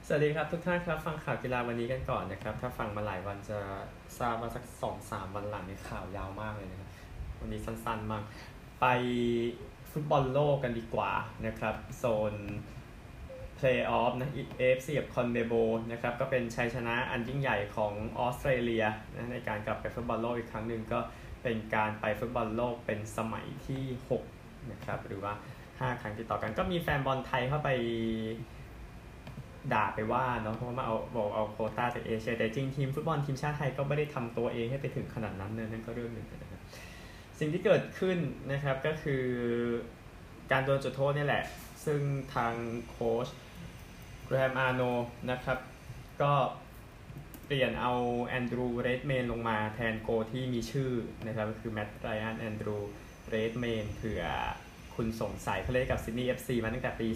สวัสดีครับทุกท่านครับฟังข่าวกีฬาวันนี้กันก่อนนะครับถ้าฟังมาหลายวันจะทราบว่าสัก2-3 วันหลังนี่ข่าวยาวมากเลยนะครับวันนี้สั้นๆมากไปฟุตบอลโลกกันดีกว่านะครับโซนเพลย์ออฟนะ AFC กับคอนเมโบนะครับก็เป็นชัยชนะอันยิ่งใหญ่ของออสเตรเลียนะในการกลับไปฟุตบอลโลกอีกครั้งหนึ่งก็เป็นการไปฟุตบอลโลกเป็นสมัยที่6นะครับหรือว่า5 ครั้งติดต่อกันก็มีแฟนบอลไทยเข้าไปด่าไปว่าเนาะเพราะว่าเอาโควต้าจากเอเชียแต่จริงทีมฟุตบอลทีมชาติไทยก็ไม่ได้ทำตัวเองให้ไปถึงขนาดนั้นนั่นก็เรื่องหนึ่งนะครับสิ่งที่เกิดขึ้นนะครับก็คือการโดนจุดโทษนี่แหละซึ่งทางโค้ชแกรมอาร์โนนะครับก็เปลี่ยนเอาแอนดรูว์เรดเมนลงมาแทนโกที่มีชื่อนะครับก็คือแมตต์ไรอันแอนดรูว์เรดเมนเผื่อคุณสงสัยเขาเล่นกับซิดนีย์ FC มาตั้งแต่ปี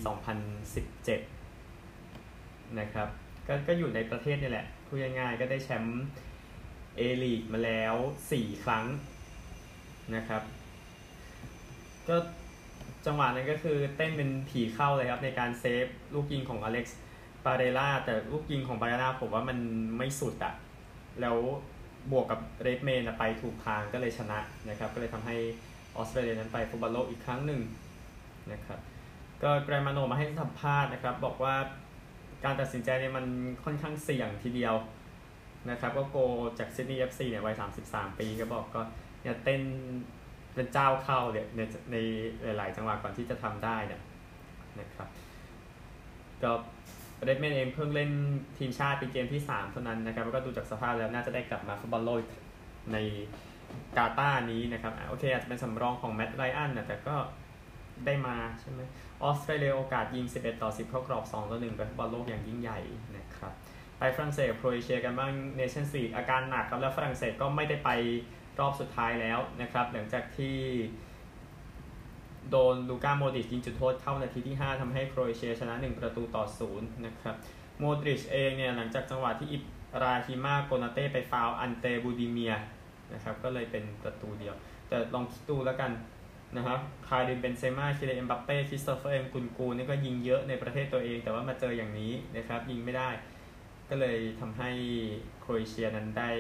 2017นะครับก็อยู่ในประเทศนี่แหละพูดง่ายๆก็ได้แชมป์ A-League มาแล้ว4 ครั้งนะครับก็จังหวะนั้นก็คือเต้นเป็นผีเข้าเลยครับในการเซฟลูกยิงของอเล็กซ์ปาเรล่าแต่ลูกยิงของปาเรล่าผมว่ามันไม่สุดอะแล้วบวกกับเรดเมนไปถูกทางก็เลยชนะนะครับก็เลยทำให้ออสเตรเลียนั้นไปฟุตบอลโลกอีกครั้งหนึ่งนะครับก็แกรมมาโนมาให้สัมภาษณ์นะครับบอกว่าการตัดสินใจเนี่ยมันค่อนข้างเสี่ยงทีเดียวนะครับก็โกจากซิดนีย์ FC เนี่ยวัย33 ปีก็บอกก็เนี่ยเต้นเป็นเจ้าเข้าเนี่ยในหลายๆจังหวะก่อนที่จะทำได้เนี่ยนะครับก็เรดแมนเองเพิ่งเล่นทีมชาติเป็นเกมที่3เท่านั้นนะครับแล้วก็ดูจากสภาพแล้วน่าจะได้กลับมาฟุตบอลโลกในกาตาร์นี้นะครับโอเคอาจจะเป็นสำรองของแมตต์ไรอันนะแต่ก็ได้มาใช่ไหมออสเตรเลียโอกาสยิง11-10เข้ากรอบ2-1ไปฟุตบอลโลกอย่างยิ่งใหญ่นะครับไปฝรั่งเศสกับโครเอเชียกันบ้างเนชั่นส์ลีกอาการหนักครับแล้วฝรั่งเศสก็ไม่ได้ไปรอบสุดท้ายแล้วนะครับหลังจากที่โดนลูก้าโมดริชยิงจุดโทษเข้านาทีที่5ทำให้โครเอเชียชนะ1-0นะครับโมดริชเองเนี่ยหลังจากจังหวะที่อิบราฮิมาโกนาเต้ไปฟาวล์อันเตบูดิเมียนะครับก็เลยเป็นประตูเดียวแต่ลองคิดดูแล้วกันนะครับคาริมเบนเซม่าคิเลน เอ็มบัปเป้คริสโตเฟอร์ เอ็มกุนกูนี่ก็ยิงเยอะในประเทศตัวเองแต่ว่ามาเจออย่างนี้นะครับยิงไม่ได้ก็เลยทำให้โครเอเชียนั้นได้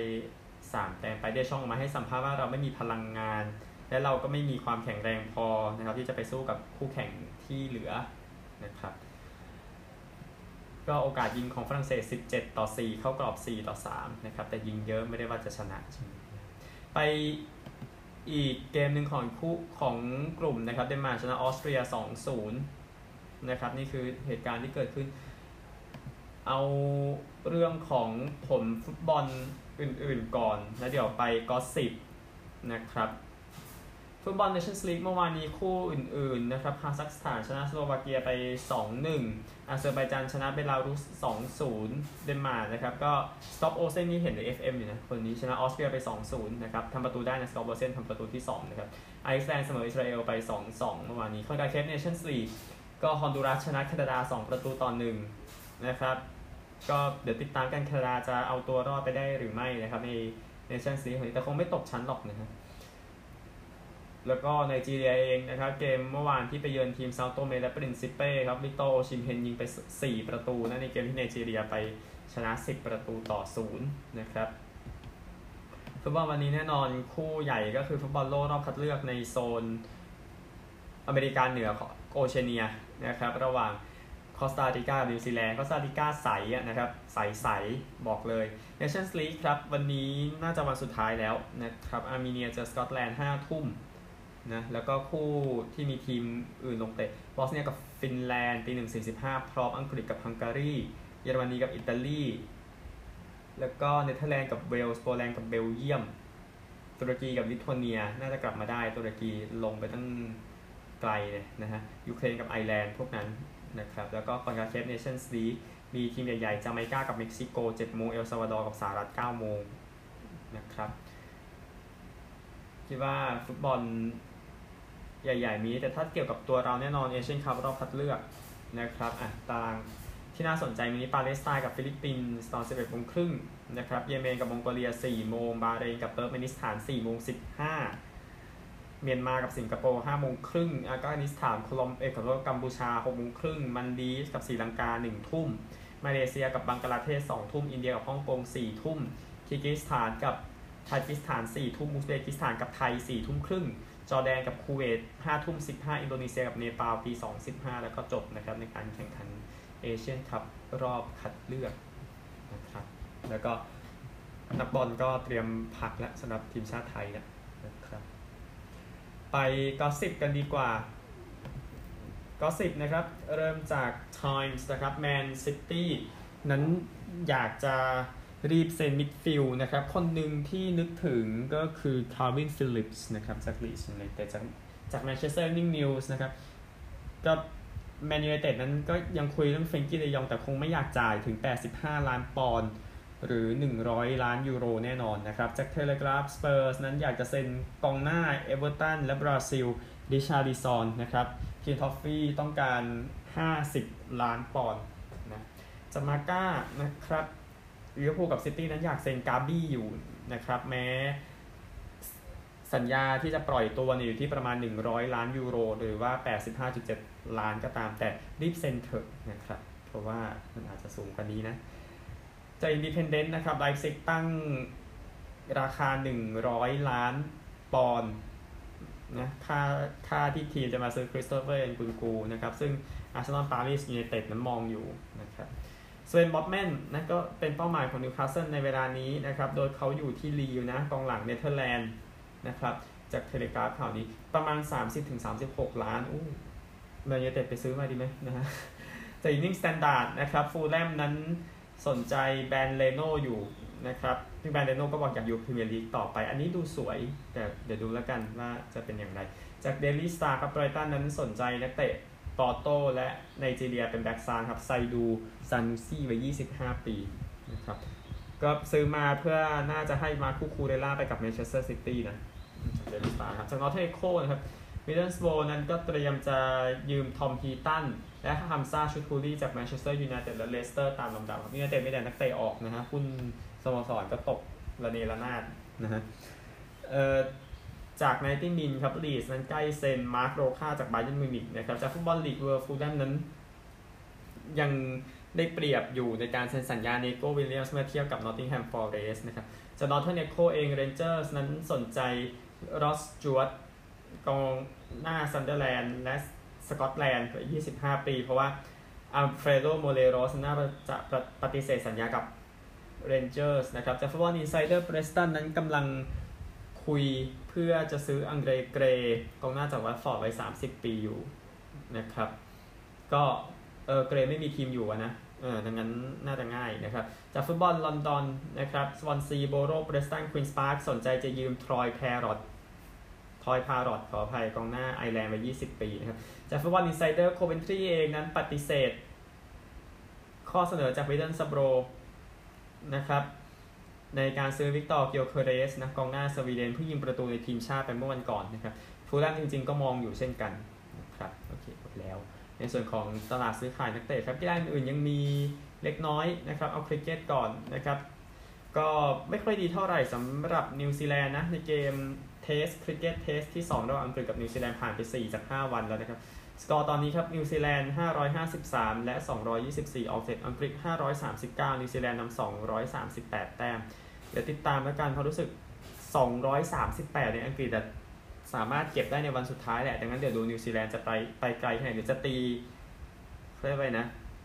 3 แต้มไปได้ช่องมาให้สัมภาษณ์ว่าเราไม่มีพลังงานและเราก็ไม่มีความแข็งแรงพอนะครับที่จะไปสู้กับคู่แข่งที่เหลือนะครับก็โอกาสยิงของฝรั่งเศส17-4เข้ากรอบ4-3นะครับแต่ยิงเยอะไม่ได้ว่าจะชนะไปอีกเกมหนึ่งของคู่ของกลุ่มนะครับเดนมาร์กชนะออสเตรีย 2-0นะครับนี่คือเหตุการณ์ที่เกิดขึ้นเอาเรื่องของผลฟุตบอลอื่นๆก่อนแล้วเดี๋ยวไปก็10นะครับฟุตบอลเนชั่นส์ลีกเมื่อวานนี้คู่อื่นๆนะครับคาซัคสถานชนะสโลวาเกียไป 2-1 อาเซอร์ไบจานชนะเบลารุส 2-0 เดนมาร์กนะครับก็สต็อปโอเซนนี่เห็นใน FM อยู่นะคนนี้ชนะออสเตรียไป 2-0 นะครับทำประตูได้นะสต็อปโอเซนทำประตูที่2นะครับไอซ์แลนด์เสมออิสราเอลไป 2-2 เมื่อวานนี้คอนคาเคฟเนชั่นส์ลีกก็ฮอนดูรัสชนะแคนาดา 2-1 นะครับก็เดี๋ยวติดตามกันแคนาดาจะเอาตัวรอดไปได้หรือไม่นะครับในเนชั่นส์ลีกของนี้แต่คงไม่ตกชั้นหรอกนะครับแล้วก็ไนจีเรียเองนะครับเกมเมื่อวานที่ไปเยือนทีมเซาโตเมและปรินซิเป้ครับวิกตอร์โอชิมเฮนยิงไป4 ประตูนะในเกมที่ไนจีเรียไปชนะ10-0นะครับฟุตบอลวันนี้แน่นอนคู่ใหญ่ก็คือฟุตบอลโลกรอบคัดเลือกในโซนอเมริกาเหนือโอเชียเนียนะครับระหว่างคอสตาริกานิวซีแลนด์คอสตาริกาใสนะครับใสบอกเลย Nations League ครับวันนี้น่าจะวันสุดท้ายแล้วนะครับอาร์เมเนียเจอสกอตแลนด์ 5 ทุ่มนะแล้วก็คู่ที่มีทีมอื่นลงเตะบอสเนียกับฟินแลนด์ตี 1:45 พร้อมอังกฤษกับฮังการีเยอรมนีกับอิตาลีแล้วก็เนเธอร์แลนด์กับเวลส์โปแลนด์กับเบลเยียมตุรกีกับลิทัวเนียน่าจะกลับมาได้ตุรกีลงไปตั้งไกลเลยนะฮะยูเครนกับไอร์แลนด์พวกนั้นนะครับแล้วก็คอนคาเคฟเนชั่นส์ลีกมีทีมใหญ่ๆจาเมกากับเม็กซิโก 7 โมงเอลซัลวาดอร์กับสหรัฐ 9 โมงนะครับคิดว่าฟุตบอลใหญ่ๆมีแต่ถ้าเกี่ยวกับตัวเราแน่นอนเอเชียนคัพรอบคัดเลือกนะครับตารางที่น่าสนใจมีปาเลสไตน์กับฟิลิปปินส์ตอน 11 โมงครึ่งนะครับเยเมนกับมองโกเลีย 4 โมงบาห์เรนกับเติร์กเมนิสถาน 4 โมง 15เมียนมากับสิงคโปร์ 5 โมงครึ่งอัฟกานิสถานกัมพูชา 6 โมงครึ่งมันดีฟกับศรีลังกา 1 ทุ่มมาเลเซียกับบังกลาเทศ2 ทุ่มอินเดียกับฮ่องกง4 ทุ่มคีร์กิสถานกับทาจิสถาน4 ทุ่มอุซเบกิสถานกับไทย4 ทุ่มครึ่งจอร์แดนกับคูเวต5 ทุ่ม15อินโดนีเซียกับเนปาลตี2:15แล้วก็จบนะครับในการแข่งขันเอเชียนคัพรอบคัดเลือกนะครับแล้วก็นักบอลก็เตรียมพักแล้วสำหรับทีมชาติไทยนะครับไปก็10กันดีกว่าก็10นะครับเริ่มจาก Times นะครับแมนซิตี้นั้นอยากจะรีบเซ็นมิดฟิลด์นะครับคนหนึ่งที่นึกถึงก็คือคาร์วินฟิลลิปส์นะครับจากลีดส์ยูไนเต็ดจากแมนเชสเตอร์อีฟนิ่งนิวส์นะครับก็แมนยูไนเต็ดนั้นก็ยังคุยเรื่องเฟรนกี้ เดยองแต่คงไม่อยากจ่ายถึง85 ล้านปอนด์หรือ100 ล้านยูโรแน่นอนนะครับจากเทเลกราฟสเปอร์สนั้นอยากจะเซ็นกองหน้าเอเวอร์ตันและบราซิลดิชาริซอนนะครับคินทอฟฟี่ต้องการ50 ล้านปอนด์นะจามาก้านะครับลิเวอร์พูลกับซิตี้นั้นอยากเซ็นกาบี้อยู่นะครับแม้สัญญาที่จะปล่อยตัวอยู่ที่ประมาณ100 ล้านยูโรหรือว่า 85.7 ล้านก็ตามแต่รีบเซ็นเถอะนะครับเพราะว่ามันอาจจะสูงกว่านี้นะจากอินดิเพนเดนต์นะครับไลฟ์ซิกตั้งราคา100 ล้านปอนด์นะค่าที่ทีมจะมาซื้อคริสโตเฟอร์เอ็นกุนกูนะครับซึ่งอาร์เซนอลปารีสยูไนเต็ดนั้นมองอยู่นะครับสเวน บอทแมนนั่นก็เป็นเป้าหมายของนิวคาสเซิลในเวลานี้นะครับโดยเขาอยู่ที่ลีลนะกองหลังเนเธอร์แลนด์นะครับจากเทเลกราฟข่าวนี้ประมาณ 30-36 ล้านแมนยูไนเต็ดไปซื้อมาดีไหมนะฮะจากอีนิ่งสแตนดาร์ดนะครับฟูลแลมนั้นสนใจแบรนด์เลโน่อยู่นะครับที่แบรนด์เลโน่ก็บอกอยากอยู่พรีเมียร์ลีกต่อไปอันนี้ดูสวยแต่เดี๋ยวดูแล้วกันว่าจะเป็นอย่างไรจากเดลี่สตาร์ครับไบรตันนั้นสนใจนักเตะปอร์โตและไนจีเรียเป็นแบ็กซ้ายครับไซดูซานูซี่วัย25 ปีนะครับก็ซื้อมาเพื่อน่าจะให้มาคูคูเรล่าไปกับแมนเชสเตอร์ซิตี้นะจากเดลี่สตาร์ครับจากนอตเทโคนะครับมิดเดิลสโบว์นั้นก็เตรียมจะยืมทอมฮีตันและฮัมซาชูทูรี่จากแมนเชสเตอร์ยูไนเต็ดและเลสเตอร์ตามลำดับครับยูไนเต็ดไม่ได้นักเตะออกนะฮะหุ้นสโมสรก็ตกระเนระนาดนะฮะจากไนติมินครับลีดส์นั้นใกล้เซ็นมาร์คโรค่าจากไบเยิร์นมิวนิกนะครับจากฟุตบอลลีกเวิร์ฟูลแลมนั้นยังได้เปรียบอยู่ในการเซ็นสัญญาเนโก้วิลเลียมส์เมื่อเทียบกับนอตติงแฮมฟอเรสต์นะครับจากนอร์เทิร์นเอโคเองเรนเจอร์สนั้นสนใจรอสจวตกองหน้าซันเดอร์แลนด์และสกอตแลนด์25 ปีเพราะว่าอัลเฟรโดโมเลโรสน่าจะปฏิเสธสัญญากับเรนเจอร์สนะครับจากฟุตบอลอินไซเดอร์เพรสตันนั้นกำลังคุยเพื่อจะซื้ออังเดรเกรกองหน้าจากวัตฟอร์ดไว้30 ปีอยู่นะครับก็เกรไม่มีทีมอยู่นะดังนั้นน่าจะง่ายนะครับจากฟุตบอลลอนดอนนะครับสวอนซีโบโรเบรสตันควีนส์พาร์คสนใจจะยืมทรอยพารอตขออภัยกองหน้าไอร์แลนด์ไว้20 ปีนะครับจากฟุตบอลอินไซเดอร์โคเวนทรีเองนั้นปฏิเสธข้อเสนอจากมิดเดิลสโบรนะครับในการซื้อวิกตอร์เกียวเคเรสนะกองหน้าสวีเดนผู้ยิงประตูในทีมชาติไปเมื่อวันก่อนนะครับฟูลแลมจริงๆก็มองอยู่เช่นกันนะครับโอเคหมดแล้วในส่วนของตลาดซื้อขายนักเตะครับกีฬาอื่นยังมีเล็กน้อยนะครับเอาคริกเก็ตก่อนนะครับก็ไม่ค่อยดีเท่าไหร่สำหรับนิวซีแลนด์นะในเกมเทสคริกเก็ตเทสที่2ระหว่างอังกฤษกับนิวซีแลนด์ผ่านไป4 จาก 5 วันแล้วนะครับสกอร์ตอนนี้ครับนิวซีแลนด์553และ224ออกเสร็จอังกฤษ539นิวซีแลนด์นำ238แต้มเดี๋ยวติดตามแล้วกันเพราะรู้สึก238ในอังกฤษสามารถเก็บได้ในวันสุดท้ายแหละดังนั้นเดี๋ยวดูนิวซีแลนด์จะไปไกลแค่ไหนหรือจะตีเรียกว่านะ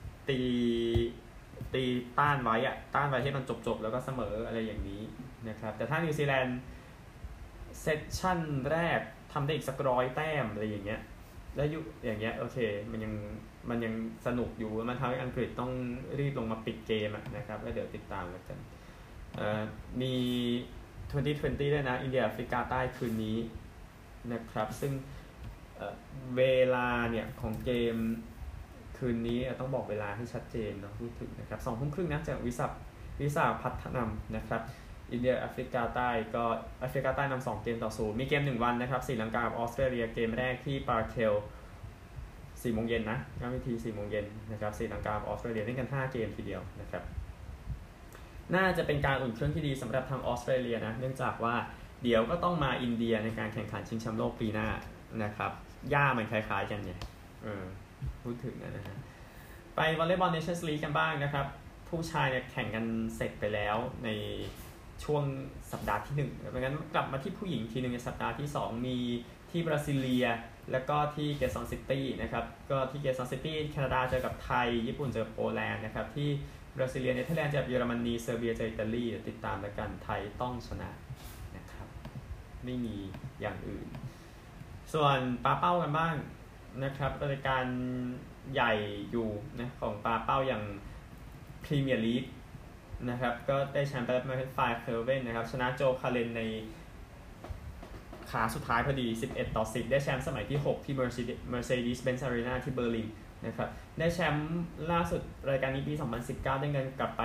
ตีต้านไว้ให้มันจบแล้วก็เสมออะไรอย่างนี้นะครับแต่ถ้านิวซีแลนด์เซสชั่นแรกทำได้อีกสัก100 แต้มอะไรอย่างเงี้ยแล้วอย่างเงี้ยโอเคมันยังสนุกอยู่มันทำให้อังกฤษต้องรีบลงมาปิดเกมนะครับแล้วเดี๋ยวติดตามกันมี2020ด้วยนะอินเดียแอฟริกาใต้คืนนี้นะครับซึ่งเวลาเนี่ยของเกมคืนนี้ต้องบอกเวลาให้ชัดเจนเนาะพูดถึงนะครับ20:30นะจากวิสาพัฒนำนะครับอินเดียแอฟริกาใต้ก็แอฟริกาใต้นำ2 เกมต่อ 0มีเกม1 วันนะครับศรีลังกากับออสเตรเลียเกมแรกที่ปาร์เคล4 โมงเย็นนะย้ำอีกที4 โมงเย็นนะครับศรีลังกากับออสเตรเลียเล่นกัน5 เกมทีเดียวนะครับน่าจะเป็นการอุ่นเครื่องที่ดีสำหรับทางออสเตรเลียนะเนื่องจากว่าเดี๋ยวก็ต้องมาอินเดียในการแข่งขันชิงแชมป์โลกปีหน้านะครับย่ามันคล้ายๆกันเนี่ยพูดถึงนะฮะไปวอลเลย์บอลเนชั่นส์ลีกกันบ้างนะครับผู้ชายเนี่ยแข่งกันเสร็จไปแล้วในช่วงสัปดาห์ที่1ดังนั้นกลับมาที่ผู้หญิงทีนึงในสัปดาห์ที่2มีที่บราซิเลียแล้วก็ที่เกซอนซิตี้นะครับก็ที่เกซอนซิตี้แคนาดาเจอกับไทยญี่ปุ่นเจอโปแลนด์นะครับที่บราซิเลียเนเธอร์แลนด์เจอกับเยอรมนีเซอร์เบียเจออิตาลีติดตามแล้วกันไทยต้องชนะนะครับไม่มีอย่างอื่นส่วนปาเป้ากันบ้างนะครับรายการใหญ่อยู่นะของปาเป้าอย่างพรีเมียร์ลีกนะครับก็ได้แชมป์ไปแล้วเป็นฝ่ายเคอร์เว่นนะครับชนะโจคาเลนในขาสุดท้ายพอดี11-10ได้แชมป์สมัยที่6ที่ Mercedes-Benz Arena ที่เบอร์ลินนะครับได้แชมป์ล่าสุดรายการนี้ปี2019ได้เงินกลับไป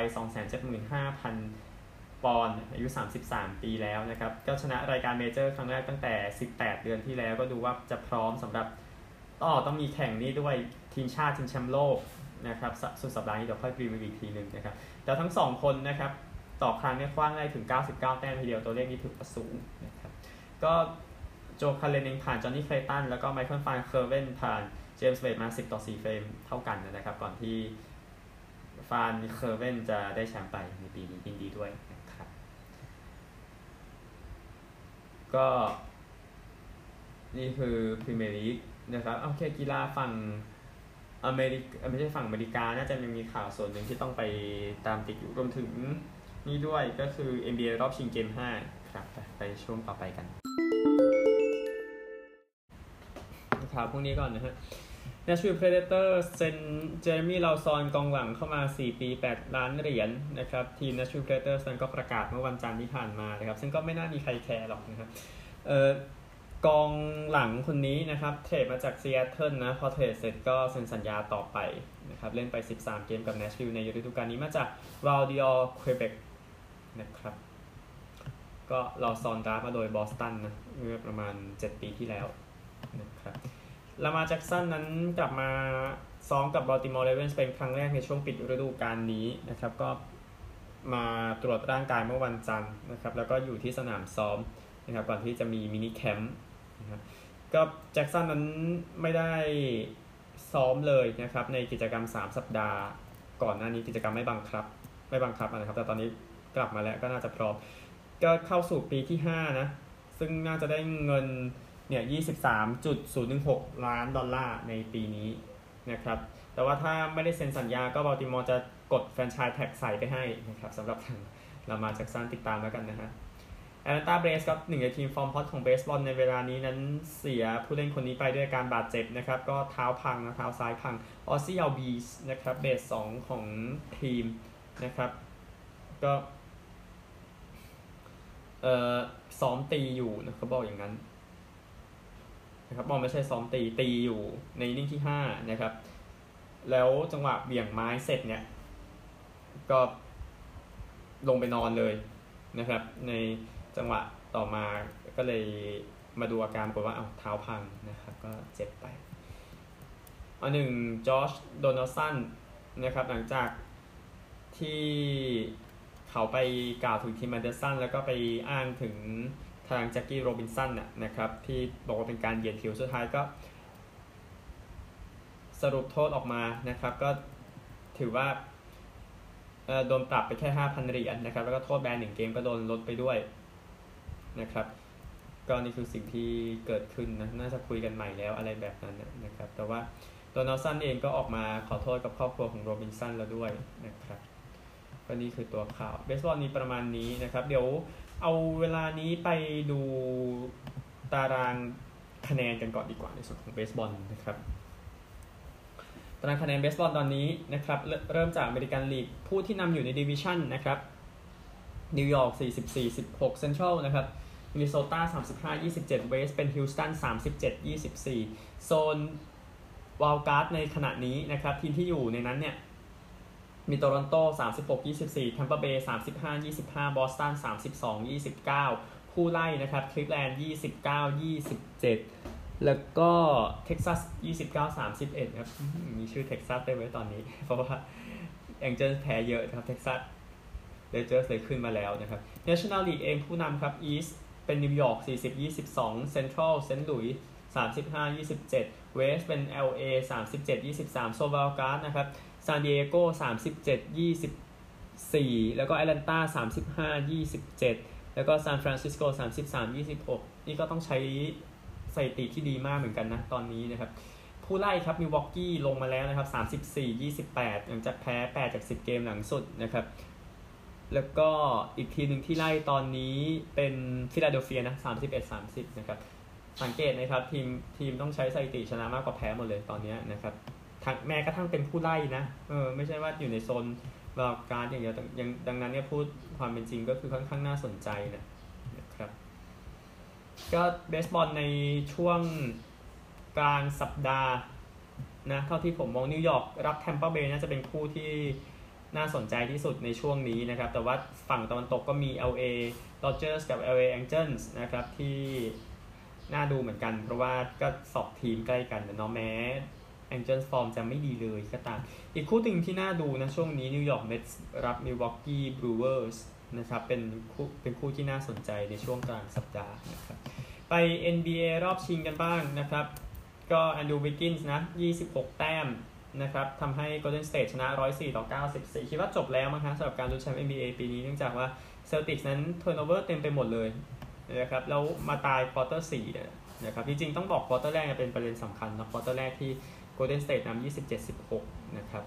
275,000 ปอนด์อายุ33ปีแล้วนะครับก็ชนะรายการเมเจอร์ครั้งแรกตั้งแต่18เดือนที่แล้วก็ดูว่าจะพร้อมสำหรับต้องมีแข่งนี้ด้วยทีมชาติชิงแชมป์โลกนะครับสุดสัปดาห์นี้เดี๋ยวค่อยรีวิวอีกทีนึงนะครับแต่ทั้ง2คนนะครับต่อครั้งเนี่ยคว้างได้ถึง99แต้มทีเดียวตัวเลขนี้ถือว่าสูงนะครับก็โจคาเลนเองผ่านจอห์นนี่เคลตันแล้วก็ไมเคิลฟานเคอร์เวนผ่านเจมส์เวดมา10-4เฟรมเท่ากันนะครับก่อนที่ฟานเคอร์เวนจะได้แชมป์ไปในปีนี้ยินดีด้วยนะครับก็นี่คือพรีเมียร์ลีกนะครับโอเคกีฬาฝั่งไม่ใช่ฝั่งอเมริกาน่าจะมีข่าวส่วนหนึ่งที่ต้องไปตามติดอยู่รวมถึงนี่ด้วยก็คือ NBA รอบชิงเกม5ครับไปช่วงต่อไปกันข่าวพวกนี้ก่อนนะฮะ Nashville Predators เซ็นเจอร์มี่ลาวซอนกองหลังเข้ามา4ปี8ล้านเหรียญนะครับทีม Nashville Predators นั้นก็ประกาศเมื่อวันจันทร์ที่ผ่านมานะครับซึ่งก็ไม่น่ามีใครแคร์หรอกนะครับกองหลังคนนี้นะครับเทรดมาจากซีแอตเทิลนะพอเทรดเสร็จก็เซ็นสัญญาต่อไปนะครับเล่นไป13เกมกับ Nashville ในฤดูกาลนี้มาจาก Valdior Quebec นะครับก็ลาวซอนดราฟมาโดยบอสตันนะเมื่อประมาณ7ปีที่แล้วนะครับลามาแจ็กสันนั้นกลับมาซ้อมกับบอลติมอร์เรเวนส์เป็นครั้งแรกในช่วงปิดฤดูกาลนี้นะครับก็มาตรวจร่างกายเมื่อวันจันทร์นะครับแล้วก็อยู่ที่สนามซ้อมนะครับก่อนที่จะมีมินิแคมป์นะครับก็แจ็กสันนั้นไม่ได้ซ้อมเลยนะครับในกิจกรรม3สัปดาห์ก่อนหน้านี้กิจกรรมไม่บังคับนะครับแต่ตอนนี้กลับมาแล้วก็น่าจะพร้อมก็เข้าสู่ปีที่5นะซึ่งน่าจะได้เงินเนี่ย 23.016 ล้านดอลลาร์ในปีนี้นะครับแต่ว่าถ้าไม่ได้เซ็นสัญญาก็บัลติมอร์จะกดแฟรนไชส์แท็กใส่ไปให้นะครับสำหรับทางลามาแจ็กสันติดตามแล้วกันนะฮะแอตแลนตาเบรสครับหนึ่งในทีมฟอร์มฮอตของเบสบอลในเวลานี้นั้นเสียผู้เล่นคนนี้ไปด้วยการบาดเจ็บนะครับก็เท้าพังนะเท้าซ้ายพังออซซี่อัลบีสนะครับเบส2ของทีมนะครับก็ซ้อมตีอยู่นะเขาบอกอย่างนั้นนะครับบอลไม่ใช่ซ้อมตีอยู่ในอินนิ่งที่5นะครับแล้วจังหวะเบี่ยงไม้เสร็จเนี่ยก็ลงไปนอนเลยนะครับในจังหวะต่อมาก็เลยมาดูอาการปรากฏว่าเท้าพังนะครับก็เจ็บไปจอร์จโดนัลสันนะครับหลังจากที่เขาไปกล่าวถึงทีมแอนเดอร์สันแล้วก็ไปอ้างถึงทางแจ็คกี้โรบินสันนะครับที่บอกว่าเป็นการเหยียดผิวสุดท้ายก็สรุปโทษออกมานะครับก็ถือว่าโดนปรับไปแค่ 5,000 เหรียญนะครับแล้วก็โทษแบน1เกมก็โดนลดไปด้วยนะครับก็นี่คือสิ่งที่เกิดขึ้นนะน่าจะคุยกันใหม่แล้วอะไรแบบนั้นนะครับแต่ว่าโดนัลสันเองก็ออกมาขอโทษกับครอบครัวของโรบินสันแล้วด้วยนะครับก็นี่คือตัวข่าวเบสบอลนี้ประมาณนี้นะครับเดี๋ยวเอาเวลานี้ไปดูตารางคะแนนกันก่อนดีกว่าในส่วนของเบสบอลนะครับตารางคะแนนเบสบอลตอนนี้นะครับเริ่มจากอเมริกันลีกผู้ที่นำอยู่ในดิวิชั่นนะครับนิวยอร์ก44-16เซ็นทรัลนะครับมินนิโซตา35-27เวสเป็นฮิลสตัน37-24โซนวายล์ดการ์ดในขณะนี้นะครับทีมที่อยู่ในนั้นเนี่ยมีโตรอนโต36-24 Tampa Bay 35-25 Boston 32-29 ผู้ไล่นะครับคลิฟแลนด์29-27 แล้วก็เท็กซัส29-31 ครับมีชื่อเท็กซัสได้ไว้ตอนนี้เพราะว่าแองเจิลแพ้เยอะนะครับเท็กซัสเรเจอร์สเลยขึ้นมาแล้วนะครับ National League เองผู้นำครับ East เป็นนิวยอร์ก40-22 Central เซนต์หลุยส์35-27 West เป็น LA 37-23 โซลวาลการ์ดนะครับซานดิเอโก37-24แล้วก็แอตแลนตา35-27แล้วก็ซานฟรานซิสโก33-26นี่ก็ต้องใช้สถิติที่ดีมากเหมือนกันนะตอนนี้นะครับผู้ไล่ครับมิลวอกกี้ลงมาแล้วนะครับ34-28หลังจากแพ้8จาก10เกมหลังสุดนะครับแล้วก็อีกทีหนึ่งที่ไล่ตอนนี้เป็นฟิลาเดลเฟียนะ31-30นะครับสังเกตนะครับทีมต้องใช้สถิติชนะมากกว่าแพ้หมดเลยตอนนี้นะครับแม้กระทั่งเป็นผู้ไล่นะไม่ใช่ว่าอยู่ในโซนวอลการ์ดอย่างเดียวดังนั้นเนี่ยพูดความเป็นจริงก็คือค่อนข้างน่าสนใจนะครับก็เบสบอลในช่วงกลางสัปดาห์นะเท่าที่ผมมองนิวยอร์กรับแทมเปอร์เบย์น่าจะเป็นคู่ที่น่าสนใจที่สุดในช่วงนี้นะครับแต่ว่าฝั่งตะวันตกก็มี LA Dodgers กับ LA Angels นะครับที่น่าดูเหมือนกันเพราะว่าก็2ทีมใกล้กันแต่เนาะแม้ Angels ฟอร์มจะไม่ดีเลยก็ตามอีกคู่ตึงที่น่าดูนะช่วงนี้นิวยอร์กเมทส์รับ Milwaukee Brewers นะครับเป็นคู่ที่น่าสนใจในช่วงกลางสัปดาห์นะครับไป NBA รอบชิงกันบ้างนะครับก็แอนดรูว์ วิกกินส์นะ26แต้มนะครับทำให้ Golden State ชนะ104-94คิดว่าจบแล้วมั้งครับสำหรับการลุ้นแชมป์ NBA ปีนี้เนื่องจากว่า Celtics นั้น turnover เต็มไปหมดเลยนะครับแล้วมาตายควอเตอร์4นะครับจริงๆต้องบอกควอเตอร์แรกเป็นประเด็นสำคัญนะควอเตอร์แรกที่ Golden State นำ27-16นะครับ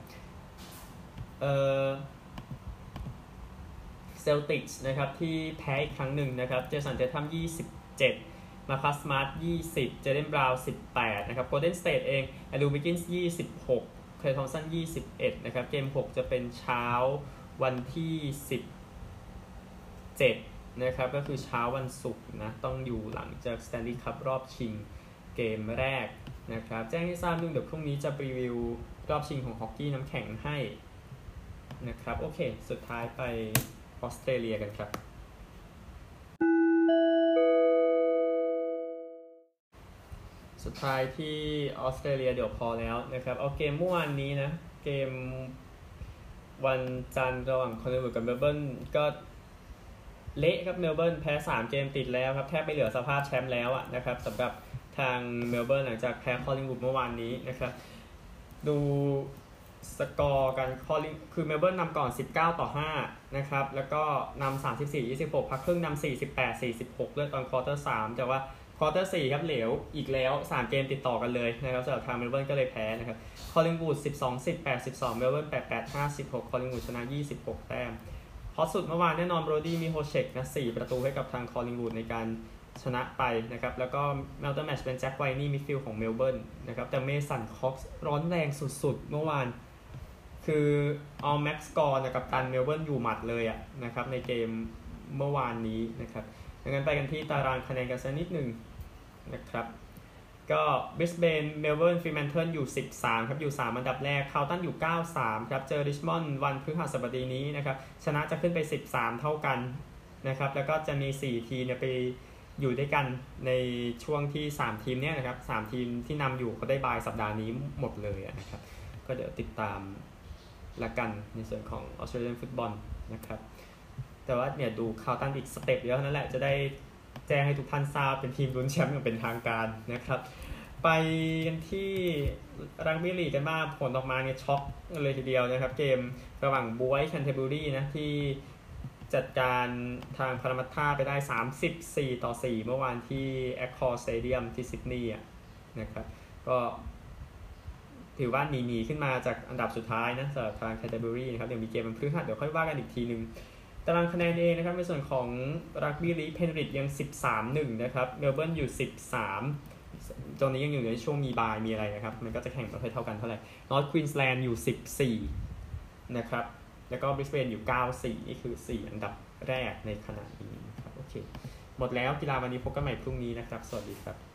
Celtics นะครับที่แพ้อีกครั้งหนึ่งนะครับเจสัน เททัม27มาคัส สมาร์ท20เจเดน บราวน์18นะครับ Golden State เองแอนดรูว์ วิกกินส์26เคลย์ ทอมสัน21นะครับเกม6จะเป็นเช้าวันที่17นะครับก็คือเช้าวันศุกร์นะต้องอยู่หลังจาก Stanley Cup รอบชิงเกมแรกนะครับแจ้งให้ทราบนึงเดี๋ยวพรุ่งนี้จะรีวิวรอบชิงของฮอกกี้น้ำแข็งให้นะครับโอเคสุดท้ายไปออสเตรเลียกันครับสุดท้ายที่ออสเตรเลียเดี๋ยวพอแล้วนะครับเอาเกมเมื่อวานนี้นะเกมวันจันทร์ระหว่างคอลลินวูดกับเมลเบิร์นก็เละครับเมลเบิร์นแพ้3เกมติดแล้วครับแทบไม่เหลือสภาพแชมป์แล้วนะครับสำหรับทางเมลเบิร์นหลังจากแพ้คอลลินวูดเมื่อวานนี้นะครับดูสกอร์กันคือเมลเบิร์นนำก่อน19-5นะครับแล้วก็นำ34-26พักครึ่งนำ48-46ด้วยตอนควอเตอร์3แต่ว่าควอเตอร์4ครับเหลวอีกแล้ว3เกมติดต่อกันเลยนะครับสำหรับทางเมลเบิร์นก็เลยแพ้นะครับคอลลินวูด12-10 8-12เมลเบิร์น8-5-16คอลลินวูดชนะ26แต้มฮอตสุดเมื่อวานแน่นอนโบรดี้มีโฮเชกนะ4ประตูให้กับทางคอลลินวูดในการชนะไปนะครับแล้วก็แมลเตอร์แมตช์เป็นแจ็คไวนี่มิดฟิลด์ของเมลเบิร์นนะครับแต่เมสันคอกส์ร้อนแรงสุดๆเมื่อวานคือเอาแม็กซ์กอร์กับตันเมลเบิร์นอยู่หมัดเลยนะครับในเกมเมื่อวานนี้นะครับดังนั้นไปกันที่ตารางคะแนนกันสักนิดหนึ่งนะครับก็บริสเบนเมลเบิร์นฟรีแมนเทิลอยู่13ครับอยู่3อันดับแรกคาวตันอยู่93ครับเจอริชมอนด์วันพฤหัสบดีนี้นะครับชนะจะขึ้นไป13เท่ากันนะครับแล้วก็จะมี4ทีมไปอยู่ด้วยกันในช่วงที่3ทีมเนี้ยนะครับ3ทีมที่นำอยู่ก็ได้บายสัปดาห์นี้หมดเลยนะครับก็เดี๋ยวติดตามละกันในส่วนของออสเตรเลียนฟุตบอลนะครับแต่ว่าเนี่ยดูคาวตันอีกสเต็ปเดียวนั่นแหละจะได้แจ้งให้ทุกท่านทราบเป็นทีมลุ้นแชมป์อย่างเป็นทางการนะครับไปกันที่รักบี้ลีกกันบ้างผลออกมาเนี่ยช็อกเลยทีเดียวนะครับเกมระหว่างบ๊วยแคนเทอร์เบอรี่นะที่จัดการทางพารามัตตาไปได้34-4เมื่อวานที่แอคคอร์สเตเดียมที่ซิดนีย์นะครับก็ถือว่าหนีขึ้นมาจากอันดับสุดท้ายนะสำหรับทางแคนเทอร์เบอรี่นะครับเดี๋ยวมีเกมวันพฤหัสเดี๋ยวค่อยว่ากันอีกทีนึงตารางคะแนนเองนะครับในส่วนของรักบี้ลีกเพนริทยัง 13-1 นะครับเมลเบิร์นอยู่13ตอนนี้ยังอยู่ในช่วงมีบายมีอะไรนะครับมันก็จะแข่งไม่ค่อยเท่ากันเท่าไหร่นอร์ทควีนสแลนด์อยู่14นะครับแล้วก็บริสเบนอยู่94นี่คือ4อันดับแรกในขณะนี้นะครับโอเคหมดแล้วกีฬาวันนี้พบกันใหม่พรุ่งนี้นะครับสวัสดีครับ